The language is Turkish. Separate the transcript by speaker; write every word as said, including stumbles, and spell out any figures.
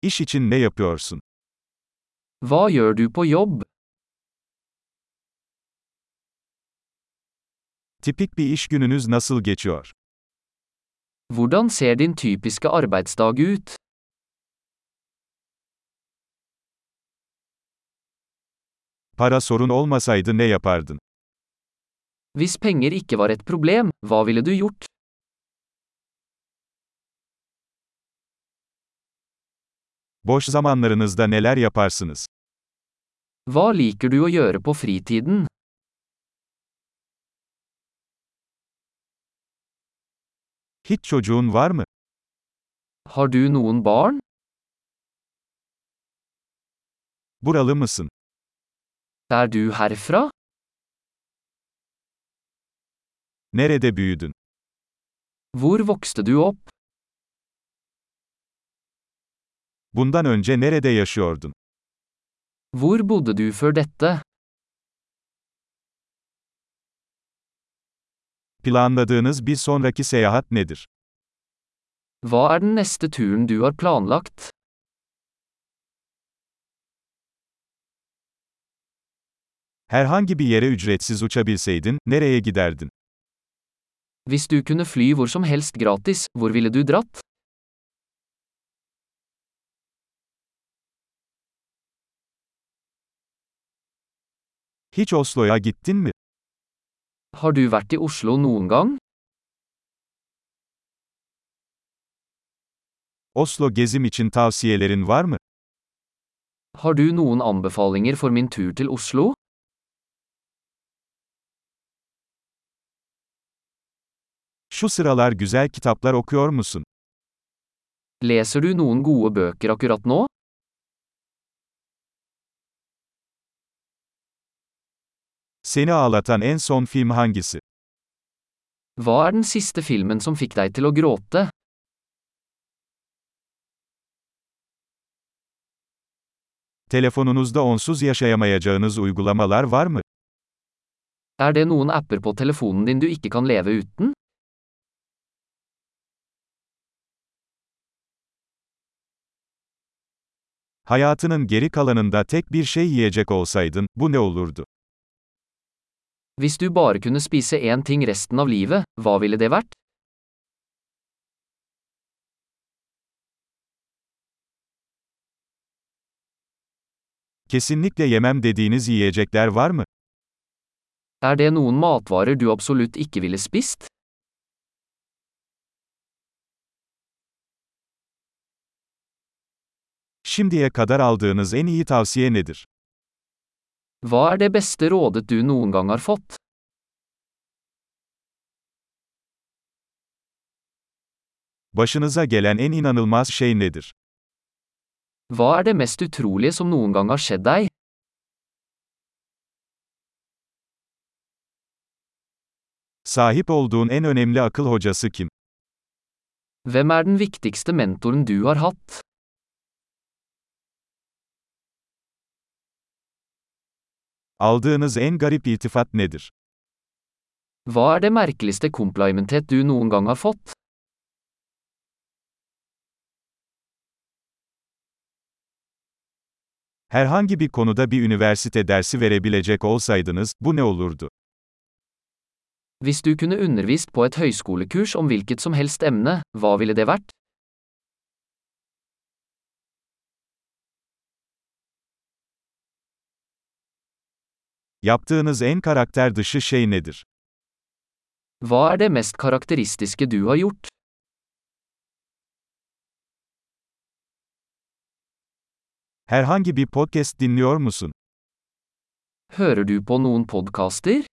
Speaker 1: İş için ne yapıyorsun?
Speaker 2: Hva gjør du på jobb?
Speaker 1: Tipik bir iş gününüz nasıl geçiyor?
Speaker 2: Hvordan ser din typiske arbeidsdag ut?
Speaker 1: Para sorun olmasaydı ne yapardın?
Speaker 2: Hvis penger ikke var et problem, hva ville du gjort?
Speaker 1: Boş zamanlarınızda neler yaparsınız?
Speaker 2: Hva liker du å gjøre på fritiden?
Speaker 1: Hiç çocuğun var mı?
Speaker 2: Har du noen barn?
Speaker 1: Buralı mısın?
Speaker 2: Er du herfra?
Speaker 1: Nerede büyüdün?
Speaker 2: Hvor vokste du opp?
Speaker 1: Bundan önce nerede yaşıyordun?
Speaker 2: Hvor bodde du før dette?
Speaker 1: Planladığınız bir sonraki seyahat nedir?
Speaker 2: Hva er den neste turen du har planlagt?
Speaker 1: Herhangi bir yere ücretsiz uçabilseydin, nereye giderdin?
Speaker 2: Hvis du kunne fly hvor som helst gratis, hvor ville du dratt?
Speaker 1: Hiç Oslo'ya gittin mi?
Speaker 2: Har du vært i Oslo noen gang?
Speaker 1: Oslo gezim için tavsiyelerin var mı?
Speaker 2: Har du noen anbefalinger for min tur til Oslo?
Speaker 1: Şu sıralar güzel kitaplar okuyor musun?
Speaker 2: Leser du noen gode bøker akkurat nå?
Speaker 1: Seni ağlatan en son film hangisi?
Speaker 2: Hva er den siste filmen som fikk deg til å gråte?
Speaker 1: Telefonunuzda onsuz yaşayamayacağınız uygulamalar var mı?
Speaker 2: Er det noen apper på telefonen din du ikke kan leve uten?
Speaker 1: Hayatının geri kalanında tek bir şey yiyecek olsaydın, bu ne olurdu?
Speaker 2: Hvis du bare kunne spise én ting resten av livet, hva ville det vært?
Speaker 1: Kesinlikle yemem dediğiniz yiyecekler var mı?
Speaker 2: Er det noen matvarer du absolutt ikke ville spist?
Speaker 1: Şimdiye kadar aldığınız en iyi tavsiye nedir?
Speaker 2: Hva er det beste rådet du noen gang har fått?
Speaker 1: Başınıza gelen en inanılmaz şey nedir?
Speaker 2: Hva er det mest utrolige som noen gang har skjedd deg?
Speaker 1: Sahip olduğun en önemli akıl hocası kim?
Speaker 2: Hvem er den viktigste mentoren du har hatt?
Speaker 1: Aldığınız en garip iltifat nedir?
Speaker 2: Hva er det merkeligste komplimentet du noen gang har fått?
Speaker 1: Herhangi bir konuda bir üniversite dersi verebilecek olsaydınız, bu ne olurdu?
Speaker 2: Hvis du kunne undervist på et høyskolekurs om hvilket som helst emne, hva ville det vært?
Speaker 1: Yaptığınız en karakter dışı şey nedir?
Speaker 2: Hva er det mest karakteristiske du har gjort?
Speaker 1: Herhangi bir podcast dinliyor musun?
Speaker 2: Hører du på noen podkaster?